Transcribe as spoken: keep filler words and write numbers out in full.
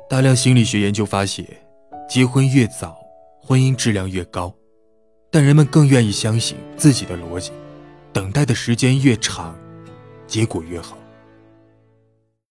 大量心理学研究发现，结婚越早，婚姻质量越高，但人们更愿意相信自己的逻辑，等待的时间越长，结果越好。